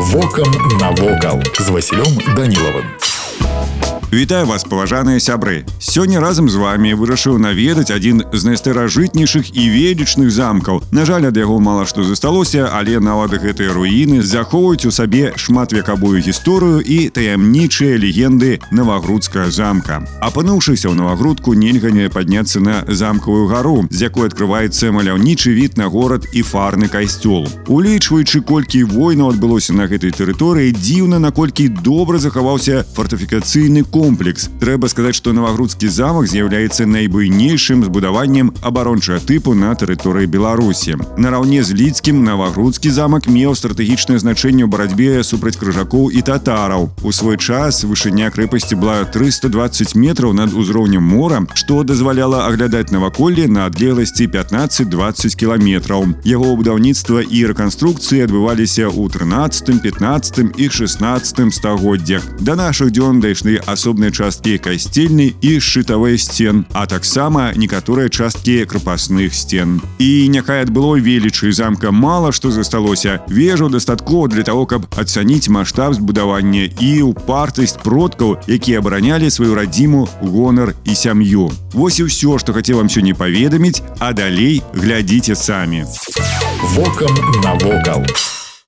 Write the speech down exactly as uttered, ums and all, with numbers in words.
Вокам навокал з Васілём Данілавым. Вітаю вас, паважаныя сябры. Сёння разам з вами вырашыў наведаць адзін з найстаражытнейшых і велічных замкаў. На жаль, ад яго мала што засталося, але нават гэтыя руіны захоўваюць у сабе шматвекавую гісторыю і таямнічыя легенды Навагрудскага замка. Апынуўшыся ў Навагрудку, нельга не падняцца на замкавую гару, з якой адкрываецца маляўнічы від на горад і фарны касцёл. Улічваючы, колькі войнаў адбылося на гэтай тэрыторыі, дзіўна, наколькі добра захаваўся фартыфікацыйны комплекс. комплекс. Трэба сказаць, што Навагрудскі замак з'яўляецца найбуйнейшым збудаваннем абарончага тыпу на тэрыторыі Беларусі. Нараўне з Лідскім Навагрудскі замак меў стратэгічнае значэнне ў барацьбе супраць крыжакоў і татараў. У свой час вышыня крэпасці была трыста дваццаць метраў над узроўнем мора, што дазваляла аглядаць наваколле на адлегласці пятнаццаць-дваццаць кіламетраў. Яго будаўніцтва і рэканструкцыі адбываліся ў трынаццатым, пятнаццатым і шаснаццатым стагоддзях. Да нашых дзён дайшлі асобныя часткі касцельнай і шчытавай сцен, а таксама некаторыя часткі крапасных сцен. І няхай ад былой велічы замка мала што засталося, вежаў дастаткова для таго, каб ацаніць маштаб збудавання і ўпартасць продкаў, якія абаранялі сваю радзіму, гонар і сям'ю. Вось і ўсё, што хацеў вам сёння паведаміць, а далей глядзіце самі. Вокам навокал.